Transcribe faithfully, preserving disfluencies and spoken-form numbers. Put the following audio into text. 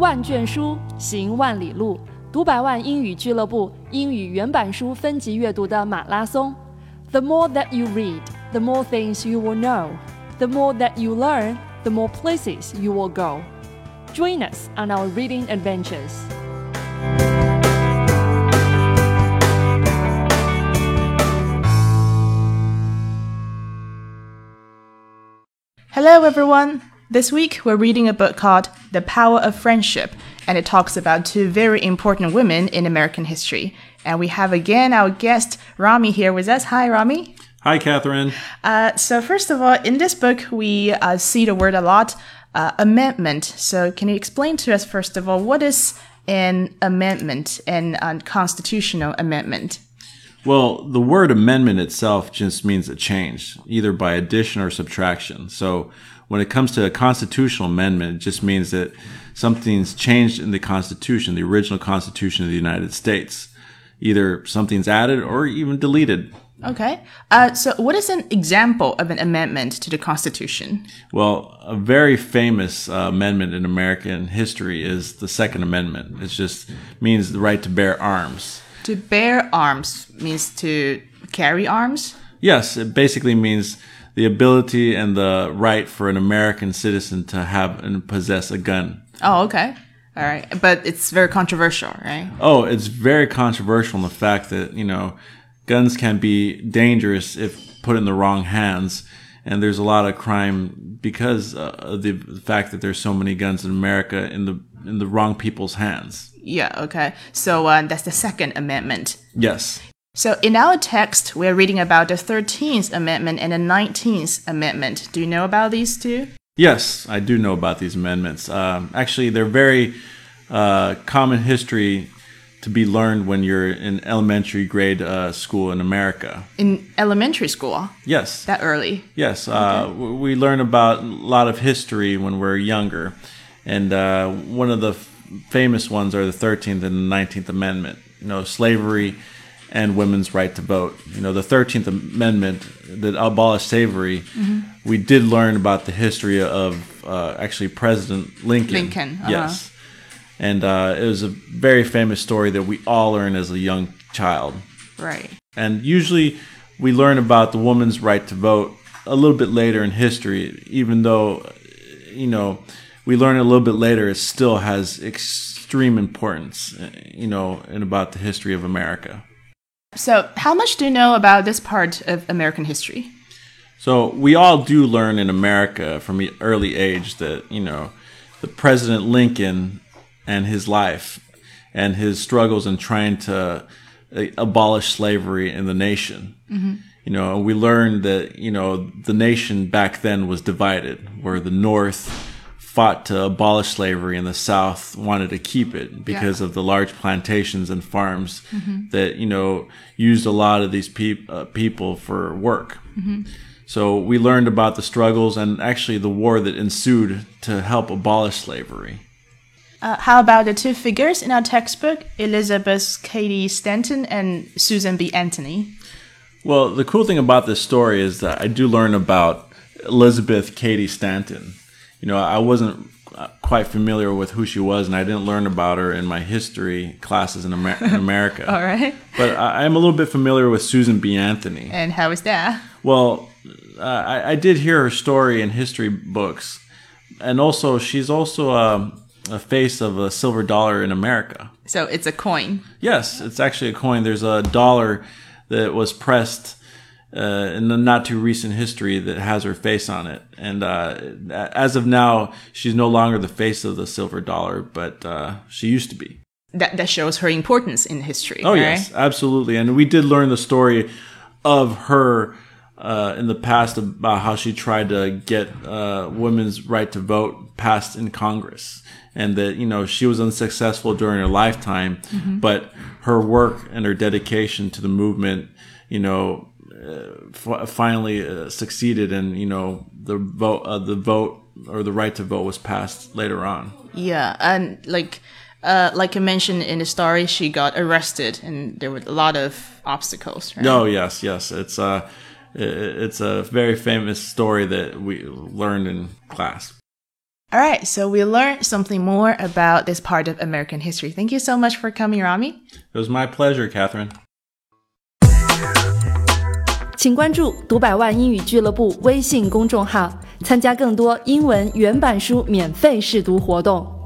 万卷书，行万里路，读百万英语俱乐部英语原版书分级阅读的马拉松。The more that you read, the more things you will know. The more that you learn, the more places you will go. Join us on our reading adventures. Hello everyone! This week we're reading a book called The Power of Friendship, and it talks about two very important women in American history. And we have again our guest Rami here with us. Hi Rami. Hi Catherine. Uh, so first of all, in this book we uh, see the word a lot, uh, amendment. So can you explain to us first of all, what is an amendment, an unconstitutional amendment? Well, the word amendment itself just means a change, either by addition or subtraction. So when it comes to a constitutional amendment, it just means that something's changed in the Constitution, the original Constitution of the United States. Either something's added or even deleted. Okay. Uh, so what is an example of an amendment to the Constitution? Well, a very famous uh, amendment in American history is the Second Amendment. It just means the right to bear arms. To bear arms means to carry arms? Yes, it basically means the ability and the right for an American citizen to have and possess a gun. Oh, okay. All right. But it's very controversial, right? Oh, it's very controversial in the fact that, you know, guns can be dangerous if put in the wrong hands. And there's a lot of crime because uh, of the fact that there's so many guns in America in the in the wrong people's hands. Yeah, okay. So uh, that's the Second Amendment. Yes. So in our text, we're reading about the thirteenth Amendment and the nineteenth Amendment. Do you know about these two? Yes, I do know about these amendments. Um, actually, they're very uh, common history to be learned when you're in elementary grade uh, school in America. In elementary school? Yes. That early? Yes. Uh, okay. We learn about a lot of history when we're younger. And uh, one of the f- famous ones are the thirteenth and the nineteenth Amendment. You know, slavery and women's right to vote. You know, the thirteenth Amendment that abolished slavery, mm-hmm. we did learn about the history of uh, actually President Lincoln. Lincoln. Uh-huh. Yes. And uh, it was a very famous story that we all learn as a young child. Right. And usually we learn about the woman's right to vote a little bit later in history, even though, you know, we learn a little bit later, it still has extreme importance, you know, in about the history of America. So how much do you know about this part of American history? So we all do learn in America from an early age that, you know, the President Lincoln and his life and his struggles in trying to abolish slavery in the nation. Mm-hmm. You know, we learned that, you know, the nation back then was divided, where the North fought to abolish slavery and the South wanted to keep it because yeah. of the large plantations and farms mm-hmm. that, you know, used a lot of these pe- uh, people for work. Mm-hmm. So we learned about the struggles and actually the war that ensued to help abolish slavery. Uh, how about the two figures in our textbook, Elizabeth Cady Stanton and Susan B. Anthony? Well, the cool thing about this story is that I do learn about Elizabeth Cady Stanton. You know, I wasn't quite familiar with who she was, and I didn't learn about her in my history classes in, Amer- in America. All right. But I- I'm a little bit familiar with Susan B. Anthony. And how is that? Well, uh, I-, I did hear her story in history books. And also, she's also a, a face of a silver dollar in America. So it's a coin? Yes, it's actually a coin. There's a dollar that was pressed Uh, in the not too recent history that has her face on it. And uh, as of now, she's no longer the face of the silver dollar, but uh, she used to be. That that shows her importance in history. Oh, right? yes, absolutely. And we did learn the story of her uh, in the past about how she tried to get uh, women's right to vote passed in Congress. And that, you know, she was unsuccessful during her lifetime, mm-hmm. but her work and her dedication to the movement, you know, Uh, f- finally uh, succeeded, and you know the vote, uh, the vote or the right to vote was passed later on. Yeah, and like, uh, like I mentioned in the story, she got arrested, and there were a lot of obstacles. Right? No, yes, yes, it's uh, it's a very famous story that we learned in class. All right, so we learned something more about this part of American history. Thank you so much for coming, Rami. It was my pleasure, Catherine. 请关注读百万英语俱乐部微信公众号，参加更多英文原版书免费试读活动。